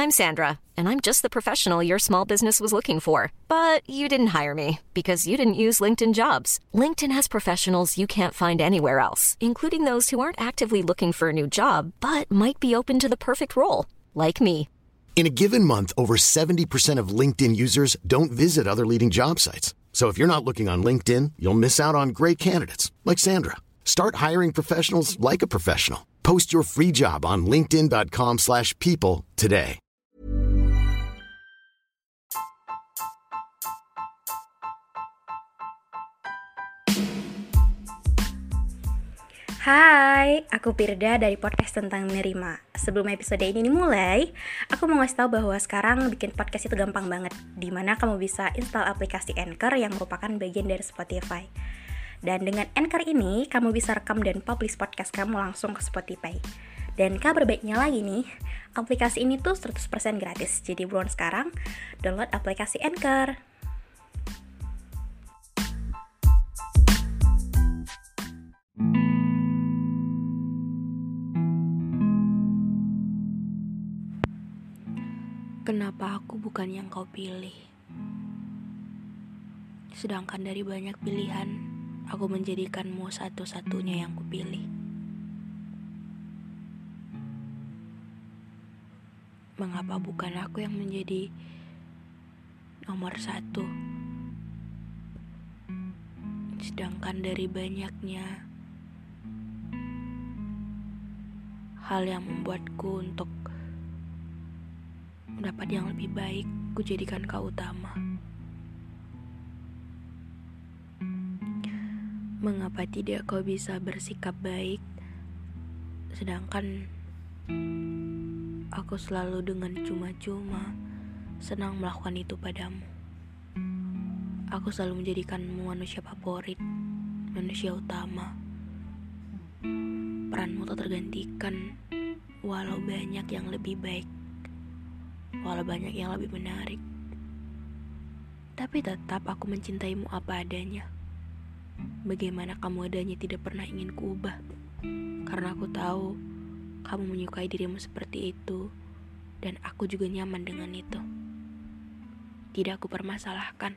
I'm Sandra, and I'm just the professional your small business was looking for. But you didn't hire me because you didn't use LinkedIn Jobs. LinkedIn has professionals you can't find anywhere else, including those who aren't actively looking for a new job, but might be open to the perfect role, like me. In a given month, over 70% of LinkedIn users don't visit other leading job sites. So if you're not looking on LinkedIn, you'll miss out on great candidates like Sandra. Start hiring professionals like a professional. Post your free job on linkedin.com/people today. Hai, aku Pirda dari podcast tentang menerima. Sebelum episode ini dimulai, aku mau ngasih tahu bahwa sekarang bikin podcast itu gampang banget, dimana kamu bisa install aplikasi Anchor yang merupakan bagian dari Spotify. Dan dengan Anchor ini, kamu bisa rekam dan publish podcast kamu langsung ke Spotify. Dan kabar baiknya lagi nih, aplikasi ini tuh 100% gratis. Jadi buruan sekarang, download aplikasi Anchor. Kenapa aku bukan yang kau pilih? Sedangkan dari banyak pilihan, aku menjadikanmu satu-satunya yang kupilih. Mengapa bukan aku yang menjadi nomor satu? Sedangkan dari banyaknya hal yang membuatku untuk mendapat yang lebih baik, ku jadikan kau utama. Mengapa tidak kau bisa bersikap baik, sedangkan aku selalu dengan cuma-cuma senang melakukan itu padamu. Aku selalu menjadikanmu manusia favorit, manusia utama. Peranmu tak tergantikan, walau banyak yang lebih baik, walau banyak yang lebih menarik. Tapi tetap aku mencintaimu apa adanya. Bagaimana kamu adanya tidak pernah ingin kuubah. Karena aku tahu kamu menyukai dirimu seperti itu, dan aku juga nyaman dengan itu. Tidak aku permasalahkan.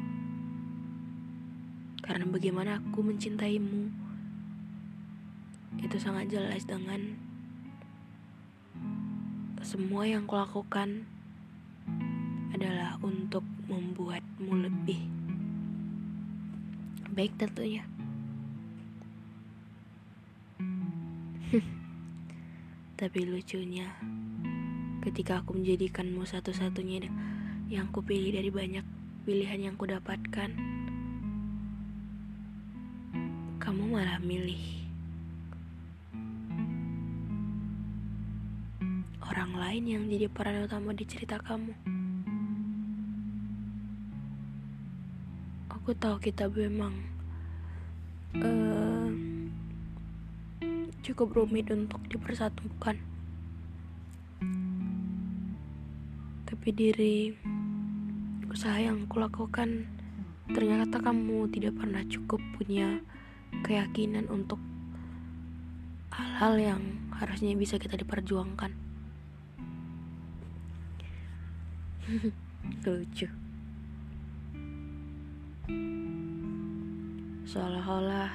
Karena bagaimana aku mencintaimu itu sangat jelas dengan semua yang kulakukan adalah untuk membuatmu lebih baik tentunya. Tapi lucunya, ketika aku menjadikanmu satu-satunya yang kupilih dari banyak pilihan yang kudapatkan, kamu malah milih orang lain yang jadi peran utama di cerita kamu. Aku tahu kita memang cukup rumit untuk dipersatukan. Tapi dari usaha yang kulakukan, ternyata kamu tidak pernah cukup punya keyakinan untuk hal-hal yang harusnya bisa kita diperjuangkan. Lucu. Seolah-olah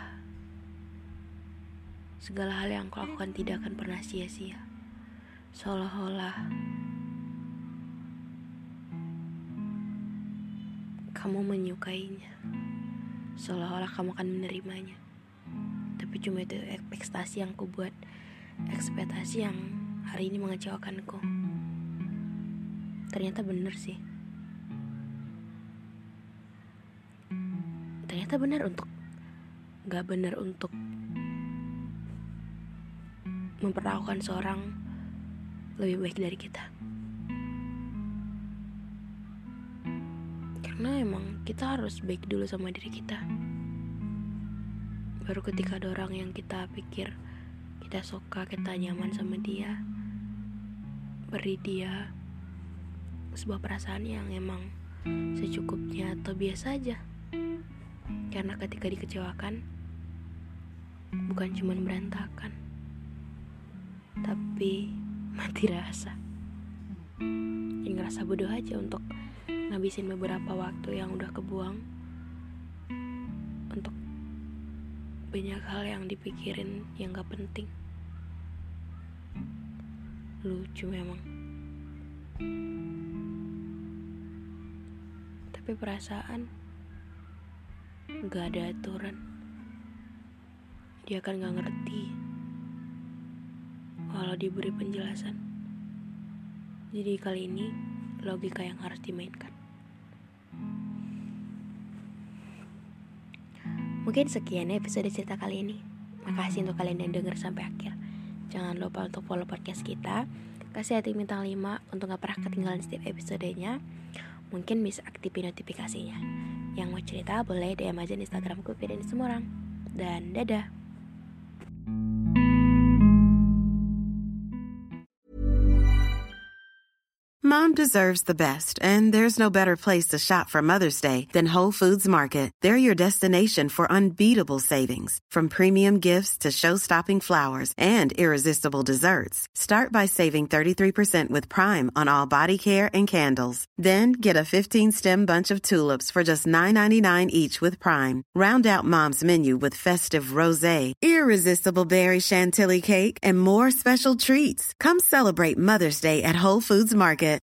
segala hal yang aku lakukan tidak akan pernah sia-sia. Seolah-olah kamu menyukainya. Seolah-olah kamu akan menerimanya. Tapi cuma itu ekspektasi yang ku buat, ekspektasi yang hari ini mengecewakanku. Ternyata benar sih. Ternyata benar untuk gak benar untuk memperlakukan seorang lebih baik dari kita. Karena emang kita harus baik dulu sama diri kita. Baru ketika ada orang yang kita pikir kita suka, kita nyaman sama dia, beri dia sebuah perasaan yang emang secukupnya atau biasa aja. Karena ketika dikecewakan, bukan cuma berantakan, tapi mati rasa. ngerasa bodoh aja untuk ngabisin beberapa waktu yang udah kebuang untuk banyak hal yang dipikirin yang gak penting. Lucu memang. Tapi perasaan gak ada aturan. Dia kan gak ngerti walau diberi penjelasan. Jadi kali ini logika yang harus dimainkan. Mungkin sekian episode cerita kali ini. Makasih untuk kalian yang denger sampai akhir. Jangan lupa untuk follow podcast kita, kasih hati bintang 5 untuk gak pernah ketinggalan setiap episodenya. Mungkin bisa aktifin notifikasinya. Yang mau cerita boleh DM aja di Instagram gue dan semua orang. Dan dadah. Mom deserves the best, and there's no better place to shop for Mother's Day than Whole Foods Market. They're your destination for unbeatable savings, from premium gifts to show-stopping flowers and irresistible desserts. Start by saving 33% with Prime on all body care and candles. Then get a 15-stem bunch of tulips for just $9.99 each with Prime. Round out Mom's menu with festive rosé, irresistible berry chantilly cake, and more special treats. Come celebrate Mother's Day at Whole Foods Market.